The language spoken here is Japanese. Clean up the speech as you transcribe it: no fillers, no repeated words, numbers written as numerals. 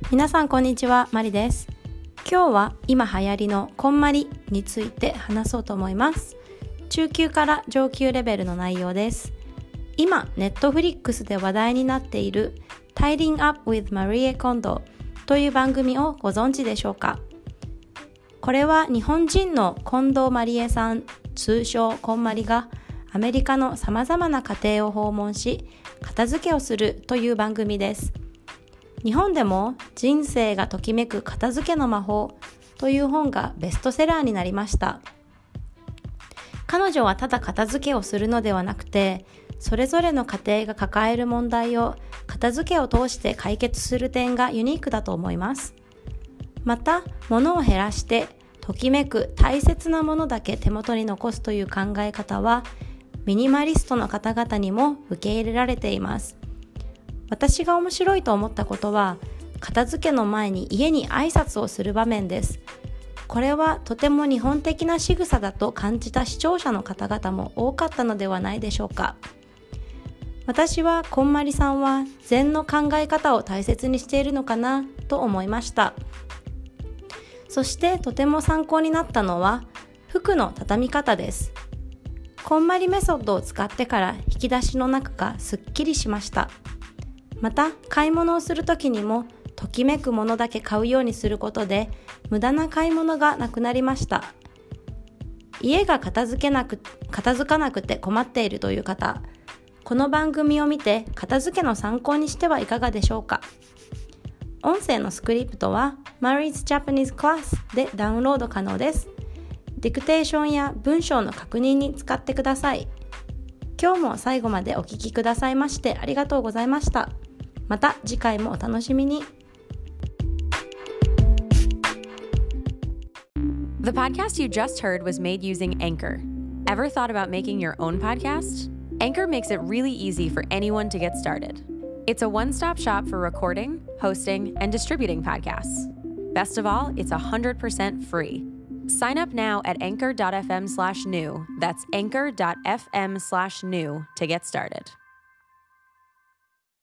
皆さんこんにちは、マリです。今日は今流行りのこんまりについて話そうと思います。中級から上級レベルの内容です。今、ネットフリックスで話題になっている Tidying Up with Marie Kondo という番組をご存知でしょうか。これは日本人の近藤まりえさん、通称こんまりがアメリカのさまざまな家庭を訪問し、片付けをするという番組です。日本でも人生がときめく片付けの魔法という本がベストセラーになりました。彼女はただ片付けをするのではなくて、それぞれの家庭が抱える問題を片付けを通して解決する点がユニークだと思います。また、物を減らしてときめく大切なものだけ手元に残すという考え方は、ミニマリストの方々にも受け入れられています。私が面白いと思ったことは、片付けの前に家に挨拶をする場面です。これはとても日本的な仕草だと感じた視聴者の方々も多かったのではないでしょうか。私はこんまりさんは禅の考え方を大切にしているのかなと思いました。そしてとても参考になったのは服の畳み方です。こんまりメソッドを使ってから引き出しの中がすっきりしました。また買い物をするときにもときめくものだけ買うようにすることで無駄な買い物がなくなりました。家が片付かなくて困っているという方、この番組を見て片付けの参考にしてはいかがでしょうか。音声のスクリプトは Marie's Japanese Class でダウンロード可能です。ディクテーションや文章の確認に使ってください。今日も最後までお聞きくださいましてありがとうございました。また次回もお楽しみに。 The podcast you just heard was made using Anchor. Ever thought about making your own podcast? Anchor makes it really easy for anyone to get started. It's a one-stop shop for recording, hosting, and distributing podcasts. Best of all, it's 100% free. Sign up now at anchor.fm/new. That's anchor.fm/new to get started.